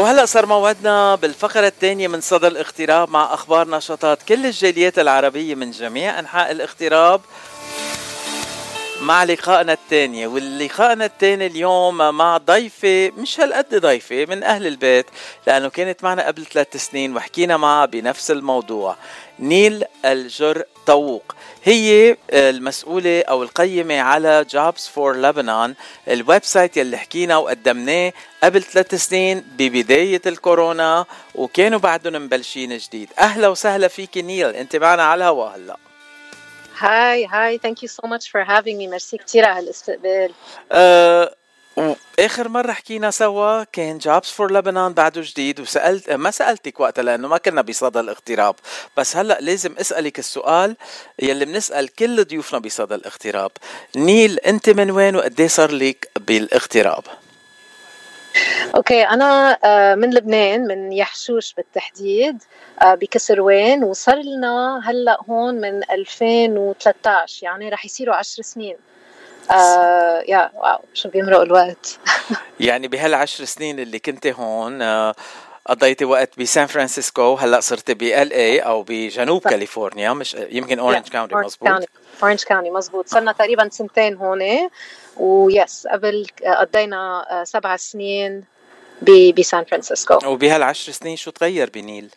وهلأ صار موعدنا بالفقرة الثانية من صدى الاغتراب مع أخبار نشاطات كل الجاليات العربية من جميع أنحاء الاغتراب مع لقائنا الثاني. واللقائنا الثاني اليوم مع ضيفة مش هالقد ضيفة من أهل البيت، لأنه كانت معنا قبل 3 سنين وحكينا معها بنفس الموضوع. نيل الجر طووق هي المسؤولة أو القيمة على Jobs for Lebanon، الويب سايت يلي حكينا وقدمناه قبل 3 سنين ببداية الكورونا، وكانوا بعدهم مبلشين جديد. أهلا وسهلا فيك نيل، أنت معنا على الهواء هلأ. هاي thank you so much for having me. ميرسي كتير على هالاستقبال. آخر مرة حكينا سوا كان Jobs for Lebanon بعده جديد، ما سألتك وقتها لأنه ما كنا بصدى الاغتراب، بس هلأ لازم أسألك السؤال يلي بنسأل كل ضيوفنا بصدى الاغتراب. نيل، أنت من وين وقديه صار لك بالاغتراب؟ اوكي، انا من لبنان، من يحشوش بالتحديد، بكسروان، وصار لنا هلا هون من 2013، يعني رح يصيروا 10 سنين. يا واو، شو بيمرق الوقت. يعني بهال10 سنين اللي كنت هون قضيتي وقت بسان فرانسيسكو، هلا صرت بLA او بجنوب كاليفورنيا، مش يمكن اورنج كاونتي؟ مزبوط، اورنج كاونتي مزبوط. صرنا تقريبا 2 سنين هون، ويس قبل قضينا 7 سنين بسان فرانسيسكو. وبهال10 سنين شو تغير بنيل؟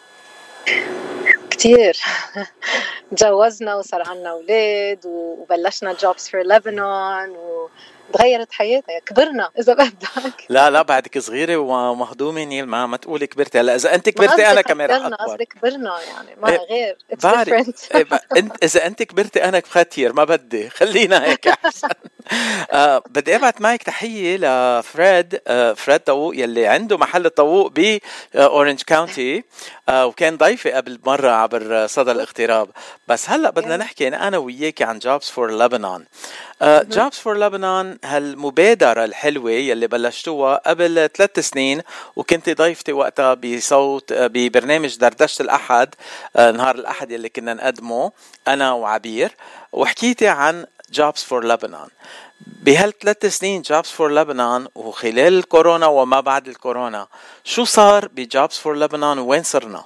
كتير. تجوزنا وصار عنا أولاد وبلشنا Jobs for Lebanon وتغيرت حياتي، كبرنا إذا بدك. لا بعدك صغيرة ومهضومة نيل، ما تقولي كبرتي. هلا إذا أنت كبرتي أنا كمان رح أكبر. قصدي كبرنا يعني ما غير. It's different. إذا أنت كبرتي أنا كتير ما بدي، خلينا هيك أحسن. بدي أبعت معك تحية لفريد طووق يلي عنده محل طووق بأورنج كاونتي، وكان ضيفي قبل مرة عبر صدى الاغتراب. بس هلأ بدنا نحكي أنا وياك عن Jobs for Lebanon. Jobs for Lebanon هالمبادرة الحلوة يلي بلشتوها قبل 3 سنين، وكنت ضيفتي وقتها بصوت ببرنامج دردشة الأحد، نهار الأحد يلي كنا نقدمه أنا وعبير، وحكيتي عن Jobs for Lebanon. بهال3 سنين Jobs for Lebanon وخلال الكورونا وما بعد الكورونا، شو صار بJobs for Lebanon وين صرنا؟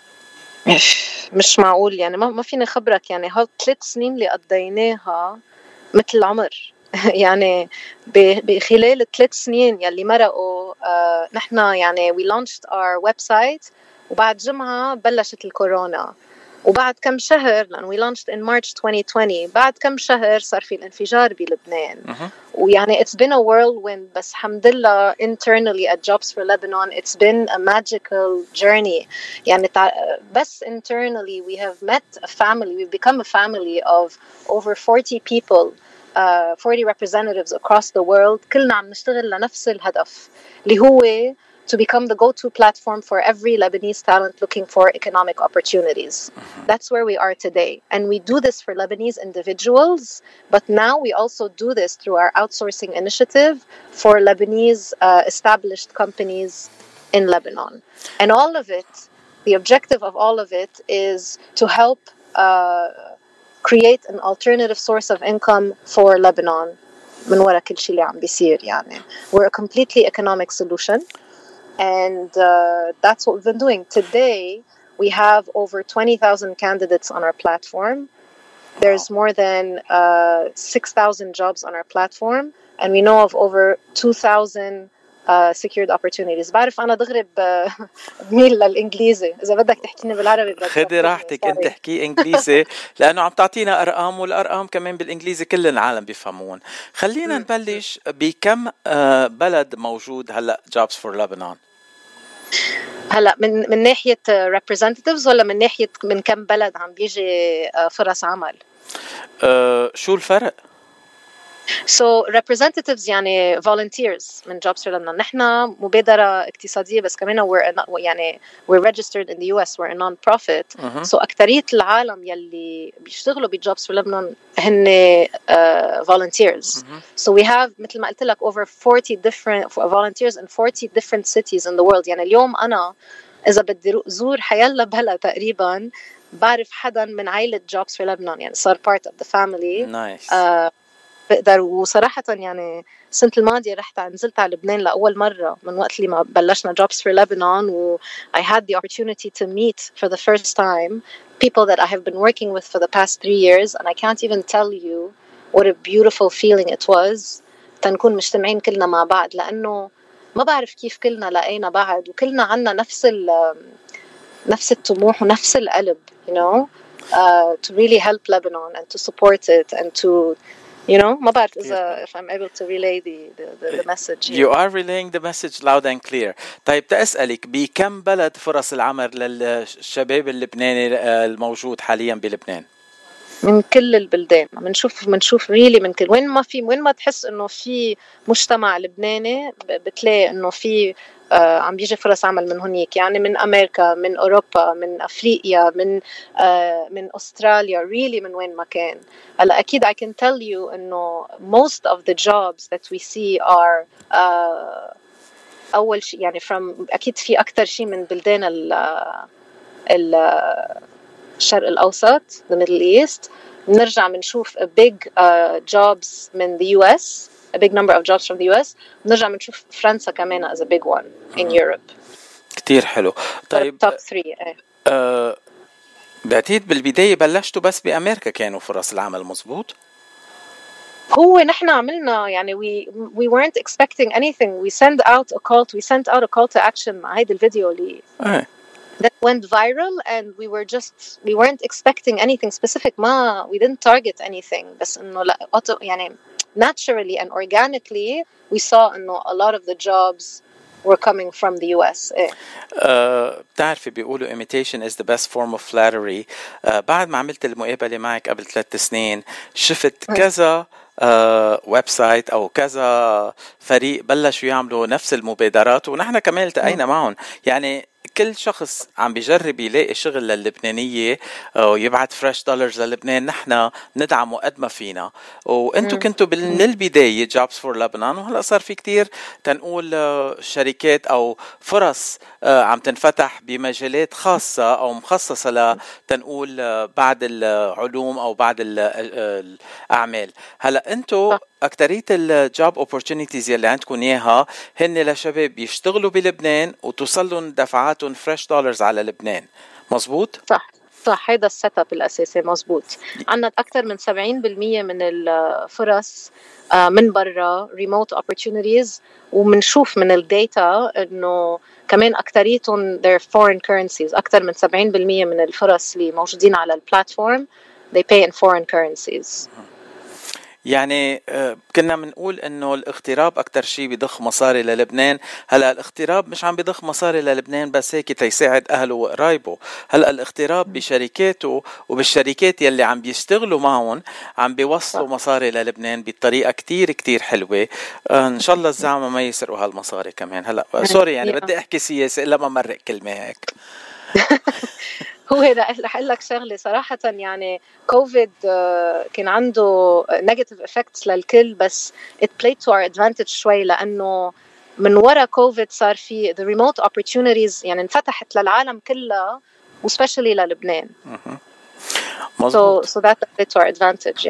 مش معقول يعني، ما فيني خبرك يعني. هال 3 سنين اللي قضيناها مثل العمر. يعني بخلال 3 سنين يلي مرقوا نحن يعني we launched our website، وبعد جمعة بلشت الكورونا، وبعد كم شهر، لأن we launched in March 2020، بعد كم شهر صار في الانفجار بلبنان. ويعني it's been a whirlwind، بس الحمد لله internally at Jobs for Lebanon it's been a magical journey. يعني بس internally we have met a family, we've become a family of over 40 people, 40 representatives across the world. كلنا عم نشتغل لنفس الهدف اللي هو to become the go-to platform for every Lebanese talent looking for economic opportunities. That's where we are today. And we do this for Lebanese individuals, but now we also do this through our outsourcing initiative for Lebanese established companies in Lebanon. And all of it, the objective of all of it is to help create an alternative source of income for Lebanon من وراء كل شيء اللي عم بيصير يعني. We're a completely economic solution. And that's what we've been doing. Today, we have over 20,000 candidates on our platform. There's more than 6,000 jobs on our platform. And we know of over 2,000 secured opportunities. بعرف أنا دغري بميل للإنجليزي، إذا بدك تحكيني بالعربي خدي راحتك، أنت حكي إنجليزي لأنه عم تعطينا أرقام، والأرقام كمان بالإنجليزي كل العالم بيفهمون. خلينا نبلش بكم بلد موجود هلأ Jobs for Lebanon؟ هلا من ناحية representatives ولا من ناحية من كم بلد عم بيجي فرص عمل؟ شو الفرق؟ So representatives يعني volunteers من Jobs for Lebanon. نحن مبادرة اقتصادية، بس كمان we're registered in the US, we're a non-profit. So أكترية العالم يلي بيشتغلوا Jobs for Lebanon هن volunteers. So we have مثل ما قلت لك over 40 different volunteers in 40 different cities in the world. يعني اليوم أنا إذا بدي زور حيلا بلا تقريبا بعرف حدا من عائلة Jobs for Lebanon، يعني صار part of the family. Nice. بقدر. وصراحة يعني السنة الماضية نزلت على لبنان لأول مرة من وقت اللي ما بلشنا Jobs for Lebanon, و I had the opportunity to meet for the first time people that I have been working with for the past 3 years, and I can't even tell you what a beautiful feeling it was تنكون مجتمعين كلنا مع بعض، لأنه ما بعرف كيف كلنا لقينا بعض وكلنا عنا نفس الطموح ونفس القلب, you know, to really help Lebanon and to support it and to, you know, ما بعرف if I'm able to relay the message here. You are relaying the message loud and clear. طيب تأسألك بكم بلد فرص العمل للشباب اللبناني الموجود حاليا بلبنان؟ من كل البلدان منشوف ريلي من كل وين ما تحس انه في مجتمع لبناني بتلاقي انه في عم بيجي فرص عمل من هنيك, يعني من امريكا, من اوروبا, من افريقيا, من استراليا, ريلي من وين ما كان. هلا اكيد I can tell you انه most of the jobs that we see are اول شيء يعني اكيد في اكثر شيء من بلدان الشرق الأوسط, the Middle East. نرجع منشوف a big jobs من the US, a big number of jobs from the US. نرجع منشوف فرنسا كمان as a big one in Europe. كتير حلو. طيب top 3. بعتقد بالبداية بلشتوا بس بأمريكا كانوا فرص العمل, مزبوط؟ هو نحن عملنا يعني we weren't expecting anything. We sent out a call to action مع هيدا الفيديو اللي that went viral, and we weren't expecting anything specific. We didn't target anything, بس إنه يعني naturally and organically we saw إنه a lot of the jobs were coming from the US. بتعرفي بيقولوا imitation is the best form of flattery. بعد ما عملت المقابلة معك قبل 3 سنين شفت كذا ويب سايت او كذا فريق بلشوا يعملوا نفس المبادرات, ونحن كمان التقينا معهم. يعني كل شخص عم بيجرب يلاقي شغل للبنانية ويبعت فريش دولارز للبنان, نحن ندعمه قد ما فينا. وانتو كنتوا من البداية Jobs for Lebanon, وهلأ صار في كتير تنقول شركات أو فرص عم تنفتح بمجالات خاصة أو مخصصة لتنقول بعد العلوم أو بعد الأعمال. هلأ انتو أكترية الجوب opportunities يلي عندكم إياها هن لشباب يشتغلوا بلبنان وتوصلون دفعاتهم فريش دولارز على لبنان, مزبوط؟ صح, هيدا السيت اب الأساسي مزبوط. عنا أكتر من 70% من الفرص من برا remote opportunities, ومنشوف من الداتا إنه كمان أكتريتهم they're foreign currencies. أكتر من 70% من الفرص اللي موجودين على البلاتفورم they pay in foreign currencies. يعني كنا منقول انه الاغتراب اكتر شيء بيضخ مصاري للبنان. هلا الاغتراب مش عم بيضخ مصاري للبنان بس هيك تيساعد اهله وقرايبه. هلا الاغتراب بشركاته وبالشركات يلي عم بيشتغلوا معهم عم بيوصلوا مصاري للبنان بطريقه كتير كتير حلوه. ان شاء الله الزعمه ما يسرقوا هالمصاري كمان. هلا سوري يعني بدي احكي سياسه الا ما مرق كلمه هيك. هو رح أقول لك شغلة صراحة, يعني كوفيد كان عنده negative effects للكل, بس it played to our advantage شوي, لأنه من وراء كوفيد صار في the remote opportunities يعني انفتحت للعالم كلها especially للبنان. so that played to our advantage.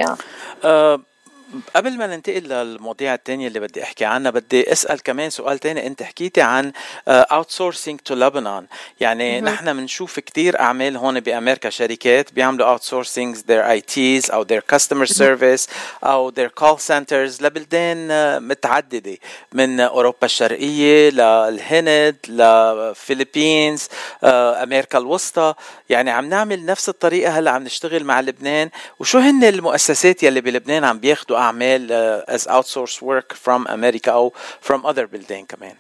قبل ما ننتقل للمواضيع التانية اللي بدي أحكي عنها, بدي أسأل كمان سؤال تاني. أنت حكيتي عن outsourcing to Lebanon. يعني نحن منشوف كتير أعمال هون بأمريكا, شركات بيعملوا outsourcing their ITs أو their customer service أو their call centers لبلدان متعددة, من أوروبا الشرقية للهند لفلبينز أمريكا الوسطى. يعني عم نعمل نفس الطريقة هلا عم نشتغل مع لبنان. وشو هن المؤسسات يلي بلبنان عم بياخدوا أعمال as outsourced work from America أو from other بلدان كمان؟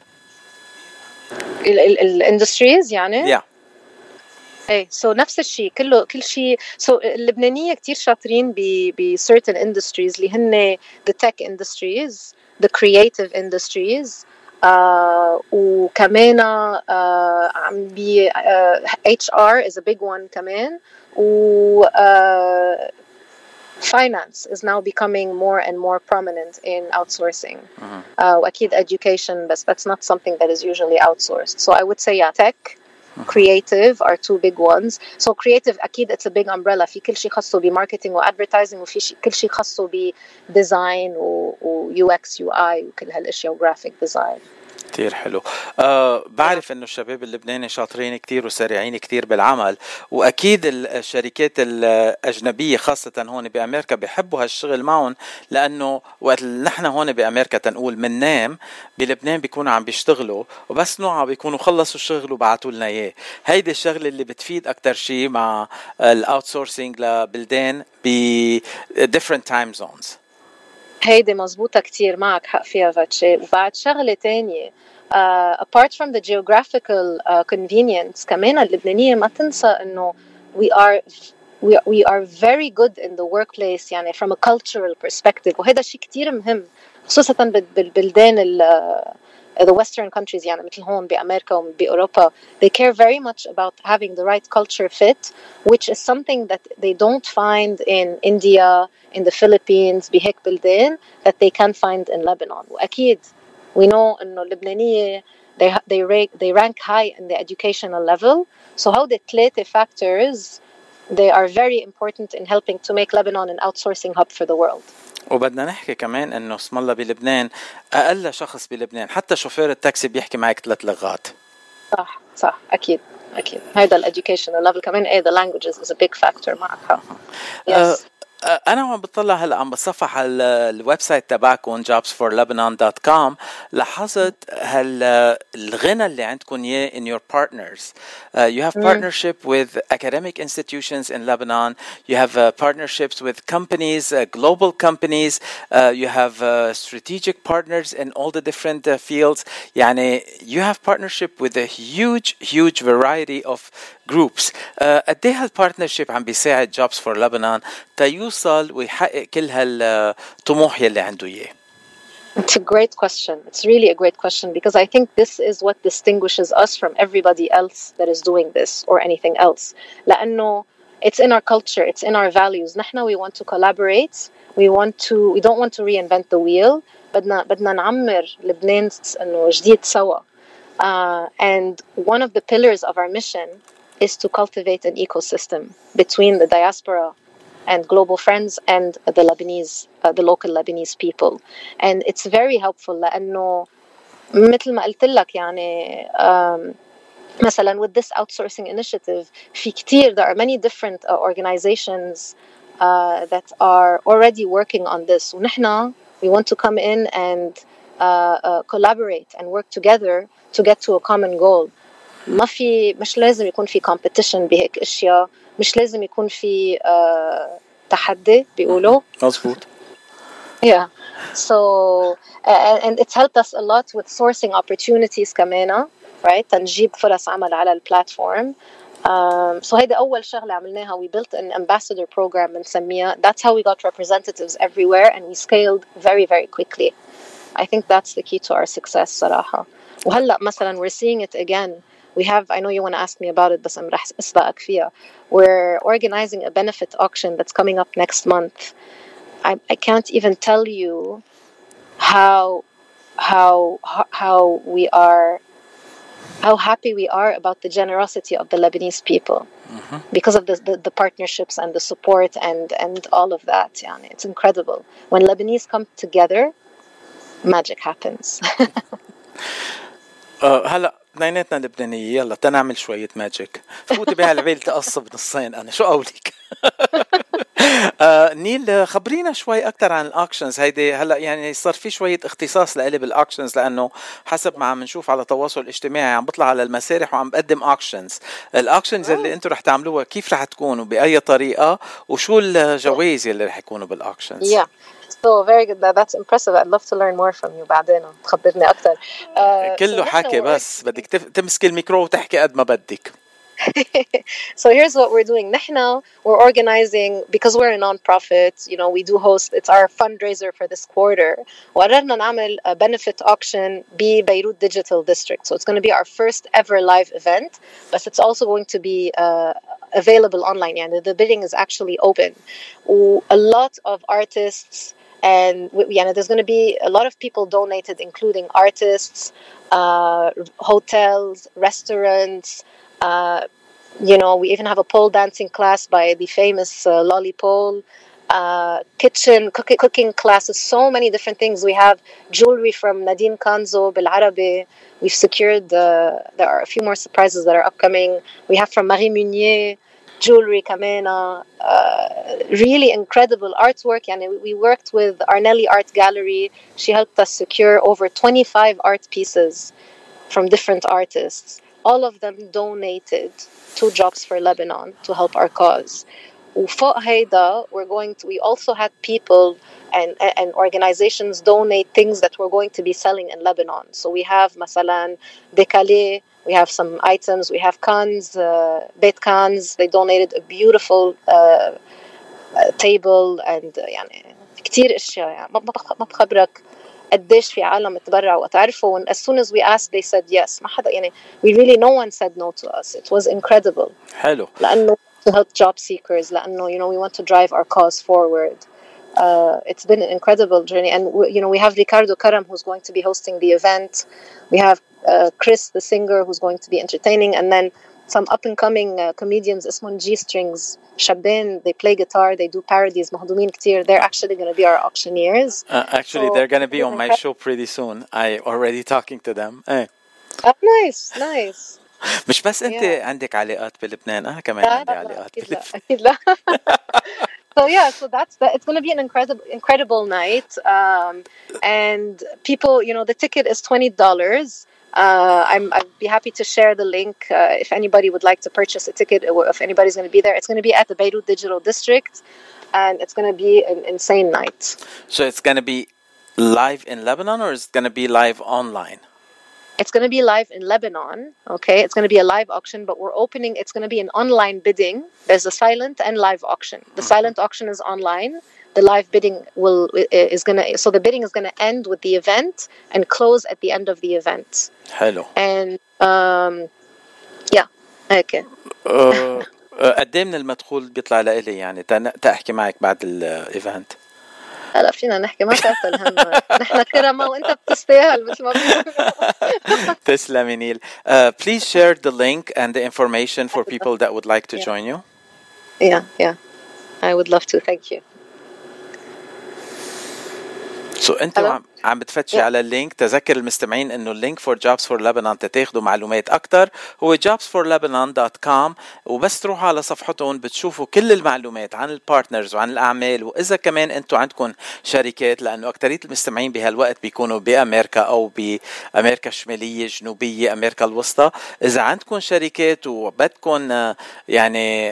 industries يعني؟ yeah. so نفس الشيء كل شيء. so اللبنانية كتير شاطرين ب certain industries اللي هن the tech industries, the creative industries, وكمان عم بي HR is a big one كمان, و finance is now becoming more and more prominent in outsourcing. وأكيد education, but that's not something that is usually outsourced. So I would say tech, creative are two big ones. So creative أكيد it's a big umbrella. في كل شيء خاصه بماركتينج وادفرتايزنج وفي كل شيء خاصه بديزاين و UX UI وكل هالاشياء وجرافيك ديزاين. كتير حلو. بعرف انه الشباب اللبناني شاطرين كتير وسريعين كتير بالعمل، واكيد الشركات الاجنبيه خاصه هون بامريكا بيحبوا هالشغل معهم، لانه وقت نحن هون بامريكا تنقول مننام بلبنان بيكونوا عم بيشتغلوا وبس نوعا بيكونوا خلصوا الشغل وبعتوا لنا اياه. هيدي الشغله اللي بتفيد اكتر شيء مع الاوتسورسينج لبلدان ب different time zones. هيدي مزبوطة كتير، معك حق فيها فاتشي. وبعد شغلة تانية apart from the geographical convenience كمان اللبنانية ما تنسى إنه we are very good in the workplace يعني from a cultural perspective، وهذا شيء كتير مهم خصوصا بالبلدان the Western countries يعني مثل هون بأمريكا وبأوروبا. They care very much about having the right culture fit, which is something that they don't find in India, in the Philippines بهيك بلدان that they can find in Lebanon. وأكيد we know إنه اللبنانية they rank high in the educational level. So how the ثلاثة factors they are very important in helping to make Lebanon an outsourcing hub for the world. وبدنا نحكي كمان انه اسم الله بلبنان اقل شخص بلبنان حتى شوفير التاكسي بيحكي معك 3 لغات. صح اكيد هذا الاديوكيشنال ليفل كمان. the languages is a big factor معك. yes. أنا عم بطلع هلا عم بتصفح على الويب سايت تبعكم jobsforlebanon.com، لاحظت الغنى اللي عندكم إياه in your partners. You have partnership with academic institutions in Lebanon. You have partnerships with companies, global companies. You have strategic partners in all the different fields. يعني you have partnership with a huge variety of groups. قد ايه هالبارتنرشيب عم بيساعد Jobs for Lebanon تيوصل ويحقق كل هالطموح يلي عنده اياه؟ It's a great question. It's really a great question because I think this is what distinguishes us from everybody else that is doing this or anything else. لأنه it's in our culture, it's in our values. نحن we want to collaborate. We don't want to reinvent the wheel. بدنا نعمر لبنان إنه جديد سوا. And one of the pillars of our mission is to cultivate an ecosystem between the diaspora and global friends and the Lebanese, the local Lebanese people. And it's very helpful لأنه مثل ما قلت لك يعني مثلا with this outsourcing initiative في كتير there are many different organizations that are already working on this. ونحن we want to come in and collaborate and work together to get to a common goal. مش لازم يكون في competition بهيك اشياء، مش لازم يكون في تحدي بيقولوا. مظبوط. Yeah. So and it's helped us a lot with sourcing opportunities كمان، right? تنجيب فرص عمل على البلاتفورم. So هيدا أول شغلة عملناها. We built an ambassador program بنسميها. That's how we got representatives everywhere and we scaled very very quickly. I think that's the key to our success صراحة. وهلأ مثلا we're seeing it again. We have, I know you want to ask me about it, but I'm رح أسبقك فيها. We're organizing a benefit auction that's coming up next month. I can't even tell you how happy we are about the generosity of the Lebanese people because of the partnerships and the support and all of that. يعني it's incredible. When Lebanese come together, magic happens. هلا اثنيناتنا لبنانية، يلا تنعمل شوية ماجيك. فوتي بهالعبيل تقصب نصين. أنا شو قولك؟ نيل خبرينا شوي أكتر عن الأكشنز هيدي. هلا يعني صار في شوية اختصاص لإلي بالأكشنز، لأنه حسب ما عم نشوف على التواصل الاجتماعي عم بطلع على المسارح وعم بقدم أكشنز. الأكشنز اللي أنتم رح تعملوها كيف رح تكون وبأي طريقة، وشو الجوائز اللي رح يكونوا بالأكشنز؟ So very good. That's impressive. I'd love to learn more from you بعدين تخبرني أكتر. كله حكي بس بدك تمسك الميكرو وتحكي قد ما بدك. So here's what we're doing. نحن we're organizing because we're a non-profit. You know, we do host. It's our fundraiser for this quarter. وقررنا نعمل a benefit auction ببيروت Digital District. So it's going to be our first ever live event, but it's also going to be available online. يعني the bidding is actually open. A lot of artists. And there's going to be a lot of people donated, including artists, hotels, restaurants, You know, we even have a pole dancing class by the famous Lolly Pole. Cooking classes, so many different things. We have jewelry from Nadine Kanzo بالعربي. We've secured there are a few more surprises that are upcoming. We have from Marie Munier jewelry kamena, really incredible artwork. And we worked with Arnelli Art Gallery. She helped us secure over 25 art pieces from different artists. All of them donated to Jobs for Lebanon to help our cause. وفوق هيدا we also had people and organizations donate things that we're going to be selling in Lebanon. So we have مثلا Decalé, we have some items, we have cans, bait cans. They donated a beautiful table and يعني كتير اشياء يعني ما بخبرك قديش في عالم تبرعوا وتعرفوا. As soon as we asked they said yes. ما حدا يعني we really no one said no to us. It was incredible. حلو. لأنه to help job seekers. لأنه you know we want to drive our cause forward. It's been an incredible journey, and you know we have Ricardo Karam who's going to be hosting the event. We have Chris the singer who's going to be entertaining, and then some up and coming comedians اسمهم G Strings شابين. They play guitar, they do parodies مهضومين كتير. They're actually going to be our auctioneers. Actually so, they're going to be on my show pretty soon. I already talking to them. Hey. Oh, nice. مش بس انت عندك علاقات بلبنان، انا كمان عندي علاقات بلبنان. أكيد لا. So yeah, so it's going to be an incredible night, and people, you know, the ticket is $20. I'd be happy to share the link if anybody would like to purchase a ticket, or if anybody's going to be there. It's going to be at the Beirut Digital District, and it's going to be an insane night. So it's going to be live in Lebanon, or is it going to be live online? It's going to be live in Lebanon, okay? It's going to be a live auction, but we're opening, it's going to be an online bidding. There's a silent and live auction. The silent auction is online. The live bidding so the bidding is going to end with the event and close at the end of the event. Hello. And, yeah, okay. قد ايه من المدخول بيطلع لإلي يعني تحكي معك بعد الايفنت؟ هلا فينا نحكي ما تعطل هم. نحن كرمة وانت بتستاهل مثل ما تسلمي نيل. Please share the link and the information for people that would like to join you. Yeah. I would love to. Thank you. So انت عم بتفتشي على اللينك. تذكر المستمعين انه اللينك for Jobs for Lebanon تتاخدوا معلومات اكتر هو jobsforlebanon.com، وبس تروحوا على صفحتهم بتشوفوا كل المعلومات عن البارتنرز وعن الاعمال. واذا كمان انتم عندكم شركات، لانه اكترية المستمعين بهالوقت بيكونوا بامريكا او بامريكا الشمالية الجنوبية امريكا الوسطى، اذا عندكم شركات وبدكم يعني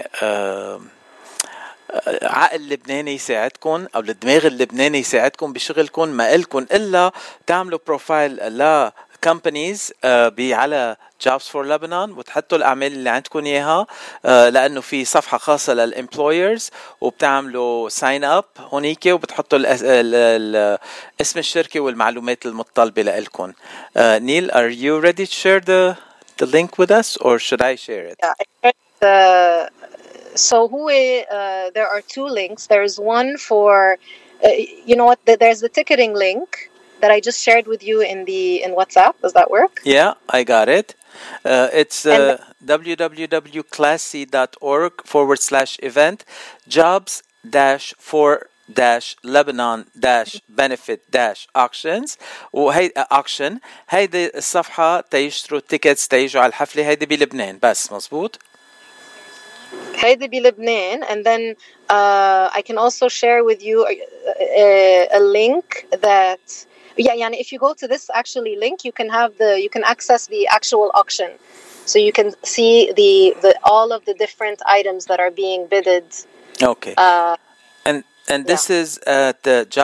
عقل لبناني يساعدكم او الدماغ اللبناني يساعدكم بشغلكم، ما إلكم الا تعملوا بروفايل ل companies على Jobs for Lebanon وتحطوا الاعمال اللي عندكم اياها، لانه في صفحه خاصه للامبلويرز وبتعملوا ساين اب هونيك وبتحطوا اسم الشركه والمعلومات المتطلبه لكم. Neil, are you ready to share the link with us, or should I share it? So there are two links. There's one for you know what, there's the ticketing link that I just shared with you in WhatsApp. Does that work? Yeah, I got it. It's www.classy.org/event jobs-for-lebanon-benefit-auctions. وهي auction هيدي الصفحة تيشتروا التيكتس تيجوا على الحفلة. هيدي بلبنان بس، مزبوط؟ هيدي بلبنان. And then I can also share with you a link that يعني if you go to this actually link you can access the actual auction, so you can see the all of the different items that are being bidded. Okay. And this is at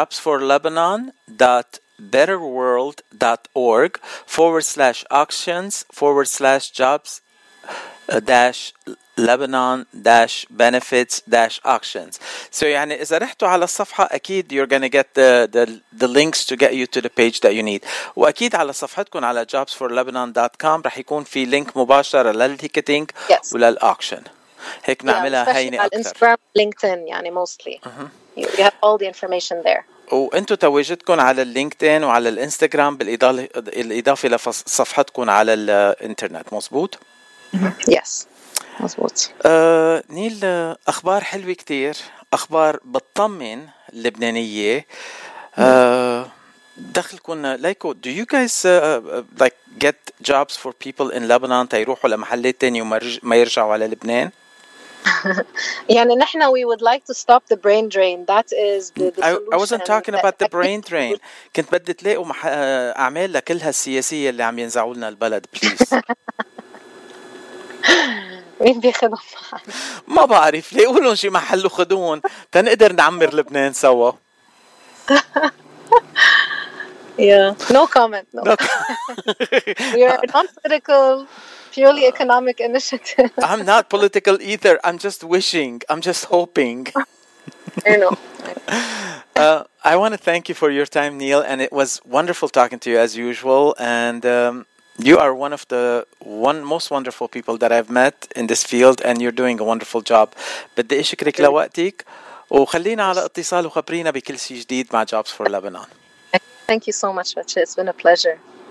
jobsforlebanon.org/auctions/Lebanon-benefits-auctions. So يعني إذا رحتوا على الصفحة أكيد you're gonna get the links to get you to the page that you need. وأكيد على صفحتكم على jobsforlebanon.com رح يكون في لينك مباشرة للتيكتينج وللأوكشن. هيك نعملها هينة أكتر. على Instagram, LinkedIn يعني mostly. You have all the information there. وانتو تواجدكم على اللينكدين وعلى الانستغرام بالإضافة لصفحتكم على الانترنت، مزبوط؟ Yes. مزبوط. نيل، أخبار حلوة كتير، أخبار بتطمن اللبنانية. دخلكم ليكو do you guys like get jobs for people in Lebanon تيروحوا لمحلات تاني وما يرجعوا على لبنان؟ يعني نحن we would like to stop the brain drain. That is the solution. I wasn't talking about the brain drain. كنت بدي تلاقوا أعمال لكلها السياسية اللي عم ينزعوا لنا البلد please. مين بياخدهم معنا؟ ما بعرف، ليه قولون شي محل وخدون تنقدر نعمر لبنان سوا. Yeah, no comment. No. We are a non-political, purely economic initiative. I'm not political either. I'm just wishing. I'm just hoping. I know. I want to thank you for your time, Neil, and it was wonderful talking to you as usual. And you are one of the most wonderful people that I've met in this field, and you're doing a wonderful job. بدي أشكرك لوقتك، وخلينا على اتصال وخبرينا بكل شيء جديد مع Jobs for Lebanon. Thank you so much, Ratchet. It's been a pleasure.